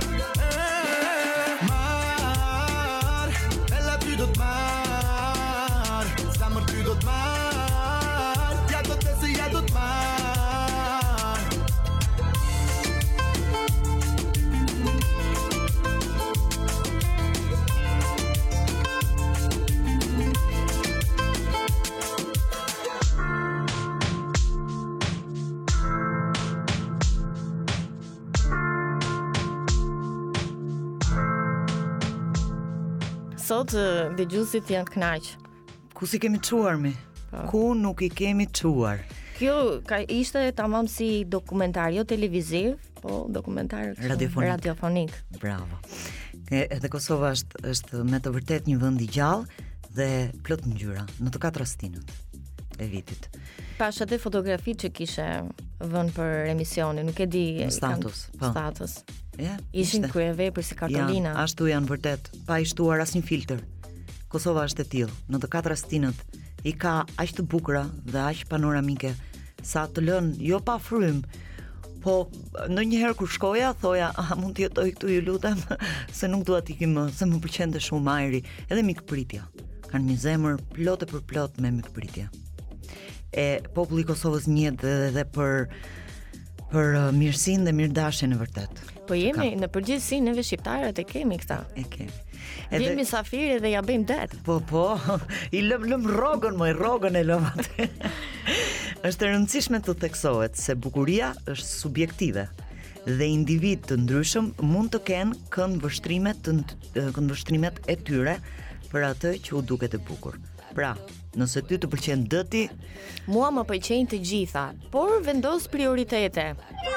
Sot dëgjuesit janë të kënaq. Ku si kemi çuar mi? Ku nuk i kemi çuar? Kjo ka ishte tamam si dokumentar, jo televiziv, po dokumentar radiofonik. radiofonik. Bravo. E, edhe Kosova është është me të vërtet një vend i gjallë dhe plot ngjyra në të katër rastinët e vitit. Pash edhe fotografi që kishe vënë për emisionin, nuk e di status, po. Status. Ja, ishin kryevepër si kartolina. Ja, ashtu janë vërtet, pa i shtuar asnjë filtr. Kosova është e tillë, në të katër rastinët i ka aq të bukura dhe aq panoramike sa të lën jo pa frym. Po ndonjëherë kur shkoja thoja, a mund të jetoj këtu ju lutem, se nuk dua të ikim më, se më pëlqente shumë ajri, edhe mikpritja. Kanë një zemër plotë për plot me mikpritje. E populli i Kosovës njihet edhe për për uh, mirësinë dhe mirëdashjen e vërtet. Po jemi në përgjithësi neve shqiptarët e kemi këta. E kemi. Edhe jemi safiri dhe ja bëjmë det. Po po, i lëm lëm rrogën, moj rrogën e lëm atë. Është e rëndësishme të theksohet se bukuria është subjektive dhe individ të ndryshëm mund të kenë këndvështrimet të këndvështrimet e tyre për atë që u duket e bukur. Pra, nëse ty të pëlqen dëti, mua më pëlqejnë të gjitha, por vendos prioritete.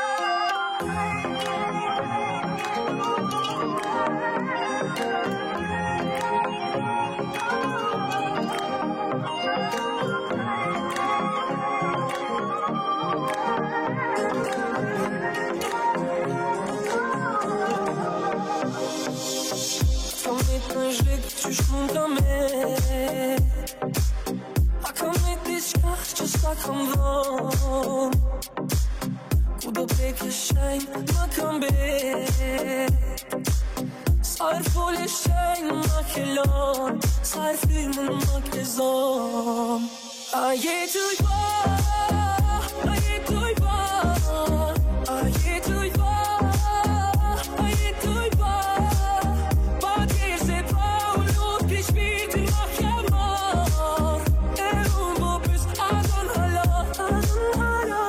Qysh mund ka me A kam me diçka që s'ka kam dhon Ku do peke shenjë më kam be Sa er fole shenjë më kelon Sa er firmën më kezon A jetu i ba A jetu i ba A jetu i ba A jetu i ba Pa tjerë se pa Shpirtin ma kjemar E unë bo pës Adon hala, adon hala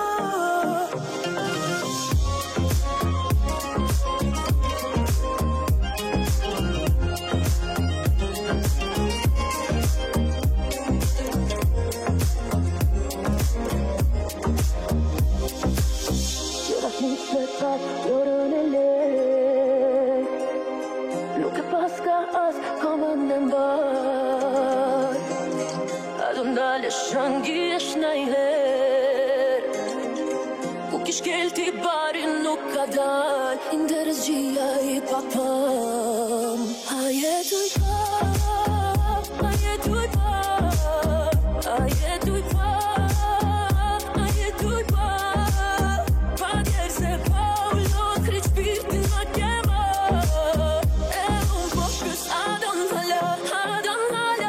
Nuk e pas ka as komën në mbar A do ndalesh shëngjesh najher Ku kish kelti barin nuk ka dal Indërës gjia i papam A jetuj pa, a jetuj pa A jetuj pa, a jetuj pa Pa djerë se pa u lotri qpirtin ma kema E unë po pës a don hala, a don hala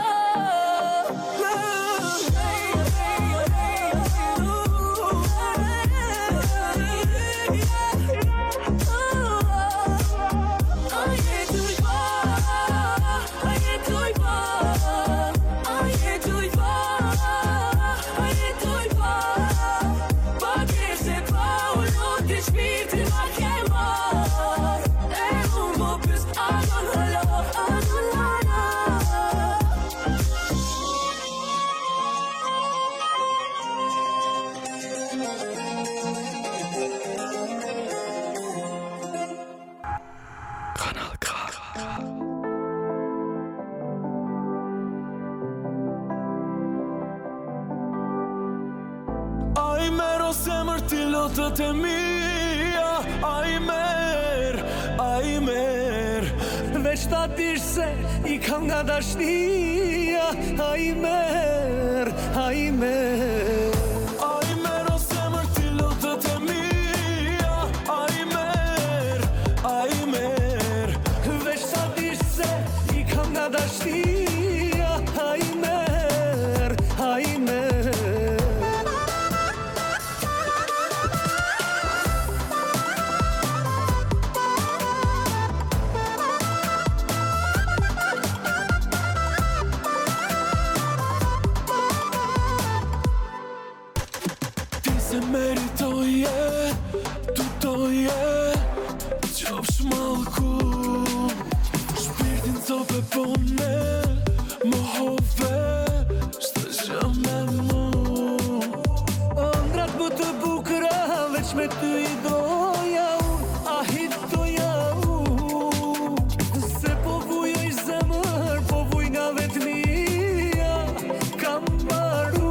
Kanal K. Ai mer o zemër ti lotët e mia Ai mer, ai mer Veç ta dish se i kam nga dashnia Ai mer, ai mer Ai mer o zemër ti lotët e mia Ai mer, ai mer Veç ta dish se i kam nga dashnia Ai mer, ai mer Se meritoje, tutoje Qofsh malku Shpirtin cope pone Mohove Shtë gjë me mu Ëndrat më të bukra Veç me ty i doja unë A hit doja unë Se po vujoj zemër Po vuj nga vetëmia Kam maru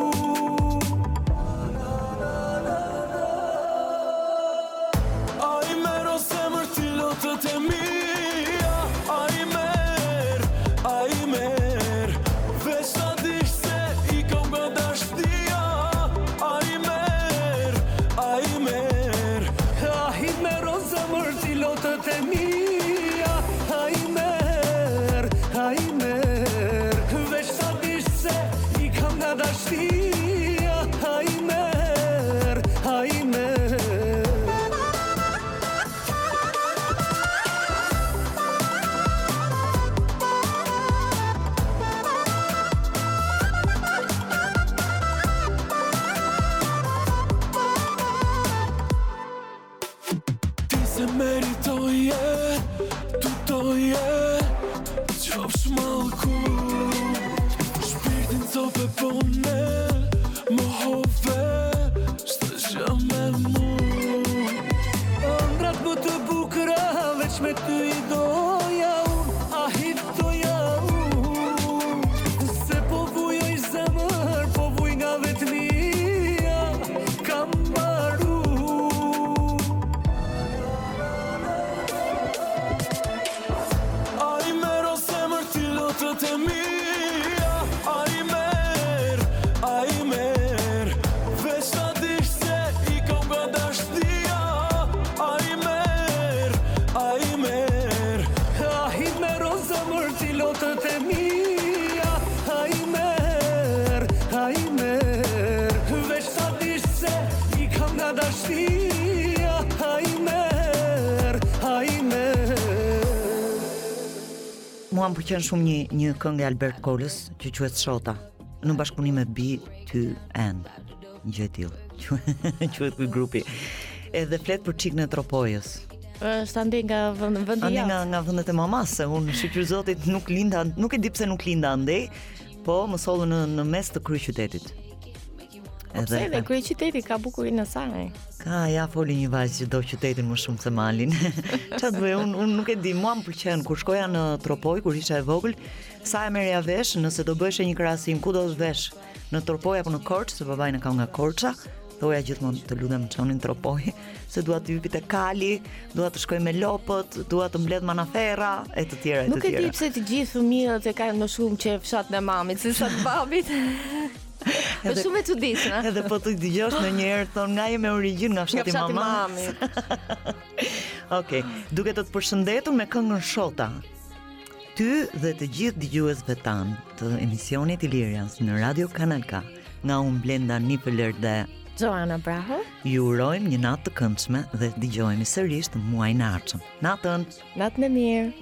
Lotët e mia Ai mer, ai mer Veç ta dish se i kam nga dashnia Ai mer, ai mer Ai mer o zemër ti lotët e mia Ai mer, ai mer Veç ta dish se i kam nga dashnia Ai mer, ai mer Se meritoje, tutoje Qofsh malku Shpirtin cope pone Mohove Shtë gjë me mu Ëndrat më të bukra Veç me ty i doja unë A hit doja unë Se po vujoj zemër Po vuj nga vetëmia Kam maru Lotët e mia Ai mer, ai mer Veç ta dish se i kam nga dashnia Ai mer, ai mer Ai mer o zemër ti lotët e mia Ai mer, ai mer Veç ta dish se i kam nga dashnia Ai mer, ai mer Mua më pëlqen shumë një një këngë e Albert Kolës që quhet Shota. Në bashkëpunim me B two N. Një gjë e tillë. Quhet ky grupi. Edhe flet për çikën e Tropojës. Është ande nga vendi Ande jashtë. nga nga vendet e mamas, se unë shqiptar zotit nuk linda, nuk e di pse nuk linda andej, po më sollu në në mes të kryeqytetit. Pse edhe kryeqyteti ka bukurinë e saj. Ka, ja, foli një vajzë që do qytetin më shumë se malin. Çfarë bëj, unë un nuk e di, mua më pëlqen kur shkoja në Tropoj, kur isha e vogël, sa e merja vesh, nëse do bëheshe një krahasim ku do të vesh, në Tropoj apo në Korçë, se babai na ka nga Korça, thoja gjithmonë të lutem çonin Tropoj, se dua të hypi te Kali, dua të shkoj me lopët, dua të mbledh manaferra e të tjera e të tjera. Nuk e di pse të gjithë fëmijët e kanë më shumë qef fshatin e mamit se sa të babit. Është shumë e çuditshme. Edhe po të dëgjosh ndonjëherë thon nga je me origjinë nga fshati i mamit. Okej, duke të të përshëndetur me këngën Shota. Ty dhe të gjithë dëgjuesve tan të emisionit Ilirians në Radio Kanal K, nga unë Blenda Nifeler dhe Joana Braho, ju urojmë një natë të këndshme dhe dëgjohemi sërish të muajin e ardhshëm. Natën. Natën e mirë.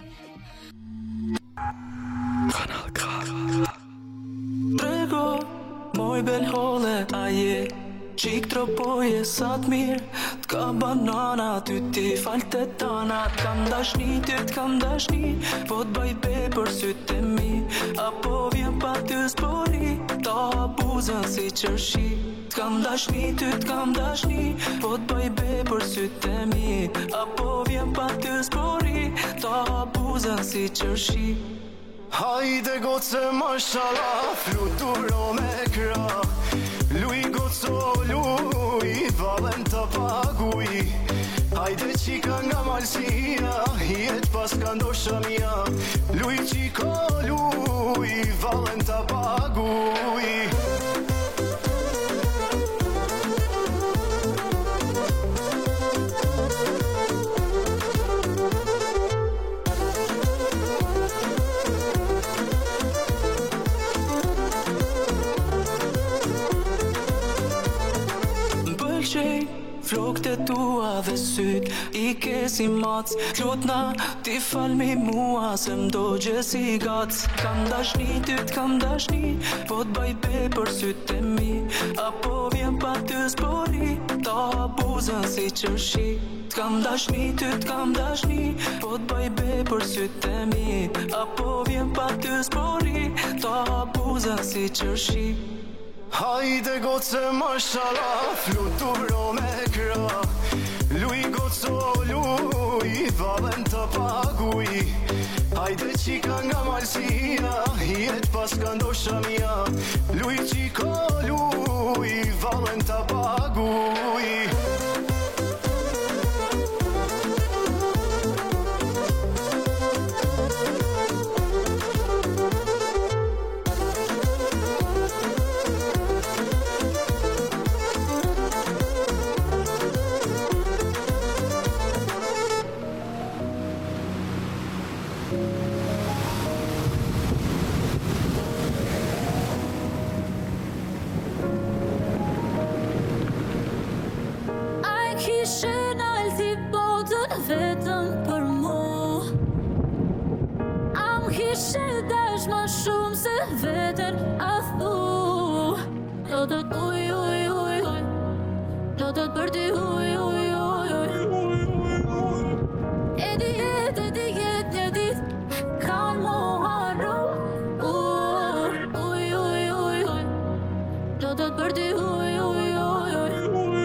Kanal K. Prego, moj bel hole, aje Qik tropoje sa t'mirë T'ka banana, ty ti falte tana T'kam dashni, ty t'kam dashni Po t'baj be për sytë e mi Apo vjen pa ty s'pori Ta abuzën si qërshi T'kam dashni, ty t'kam dashni Po t'baj be për sytë e mi Apo vjen pa ty s'pori Ta abuzën si qërshi Hajde goce mashallah, fluturo me kra Luj goco luj, valen të paguj Hajde qika nga malsia, jet pas ka ndosha mia Luj qiko luj, valen të paguj Flokët e tua dhe syt I ke si mac Lutna ti falmi mua Se m'do gjesi gac Kam dashni, ty t'kam dashni Po t'baj be për syt e mi Apo vjen pa ty s'pori Ta abuzën si qërshi T'kam dashni, ty t'kam dashni Po t'baj be për syt e mi Apo vjen pa ty s'pori Ta abuzën si qërshi Hajde goce mashallah, fluturo me kra Luj goco luj, valen të paguj Hajde qika nga malsia, jet pas ka ndosha mia Luj qiko luj, valen të paguj Vetëm për mu Am kishe dash ma shumë se vetën a thu Do të t'uj, uj, uj, uj Do të t'për ti uj, uj, uj, uj E di jet, e di jet një dit Kanë mu harru Uj, uj, uj, uj, uj Do të t'për ti uj, uj, uj, uj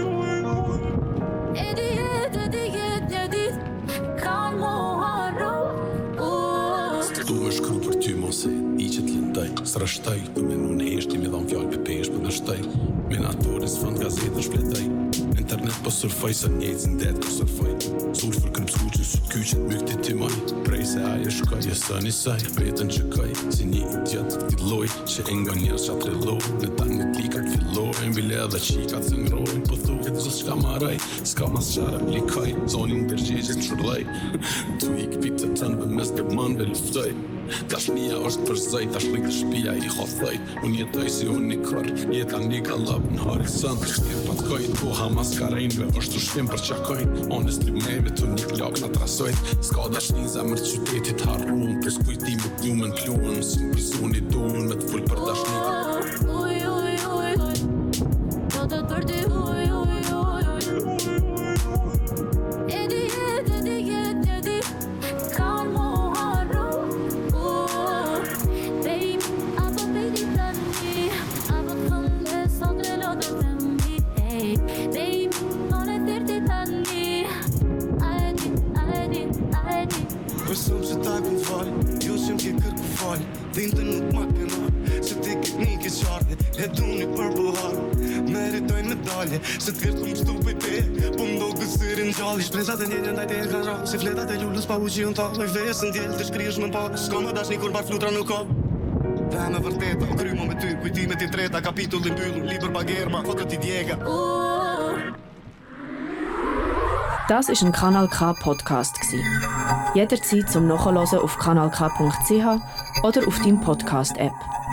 E di jet, e di jet një dit Kanë mu harru Tu me shkru për ty mos e i që t'lindaj Srashtaj, për me nun heshti me dham fjall për pesh për dështaj Minatorin s'fënd gazetën shpletaj Internet po surfaj sa njejtën det kër surfaj Surfer kërëm s'kuqës kyqet mykti ti maj Prej se aje shkaj, e së një saj Vetën që kaj, si një idiot filloj Që e nga njerës që atreloj Në tanë në klikat filloj E mbile edhe qikat se ngrojnë Po thu këtë zës qka maraj Ska mas qara plikaj Zonin dërgjegjit në shurlaj Tu i këpit të tënë Vë mes të manve luftoj Dashnia është për zaj, tash rikë shpia i hothoj Unë jetoj si unë një kër, jeta një galab në horizont Shtirë pat kojt, koha mas karejnve është ushtim për qakojt Honestly meve të një klak në trasojt Ska dashni zemër qytetit harruan Për skujtimi plumën pluën Si më pizuni duën me të full për dashni Uj, uj, uj, uj Do të për ti uj, uj, uj, uj E di jet, e di jet një dit Kanë mu harru Baby, apo baby tani Apo thëmë dhe sot e lotë të mi Hey, baby, non e te Mas somos a estar com fome e eu sempre que quero com fome. Tenta no macanar, se te que nem que sorte. É do único purple heart. Meritoj medalje, se të kërë të më për te. Po më do kësirin gjalli. Shprezat e njenjën daj te e kanë rrë. Si fletat e lullës pa u që jënë ta. Loj vesën djellë të shkrish më parë. S'ka më dash një kur bar flutra nuk ka. Dhe me vërteta, krymo me ty. Kujtimet i treta, kapitullin mbyllur. Liber bagerma, fotot i djega. Das war ein Kanal K Podcast. Jederzeit zum Nachhören auf kanal k punkt c h oder auf deinem Podcast-App.